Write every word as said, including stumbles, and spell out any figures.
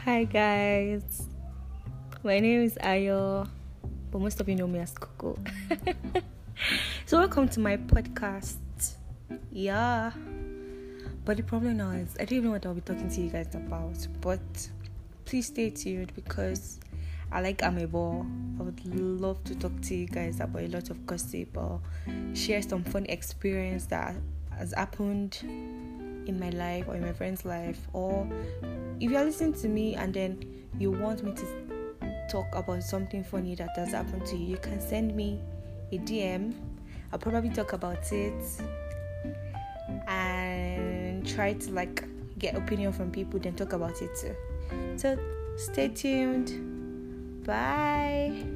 Hi guys, my name is Ayo, but most of you know me as Coco. So welcome to my podcast. Yeah, but the problem now is I don't even know what I'll be talking to you guys about. But please stay tuned because I like Amebo. I would love to talk to you guys about a lot of gossip or share some fun experience that has happened in my life or in my friend's life, or if you're listening to me and then you want me to talk about something funny that has happened to you, you can send me a D M. I'll probably talk about it and try to like get opinion from people, then talk about it too. So stay tuned. Bye.